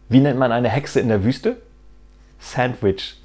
Wie nennt man eine Hexe in der Wüste? Sandwich.